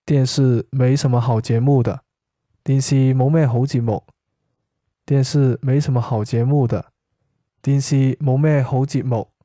電視沒什麼好節目的，電視冇咩好節目。電視沒什麼好節目的，電視冇咩好節目。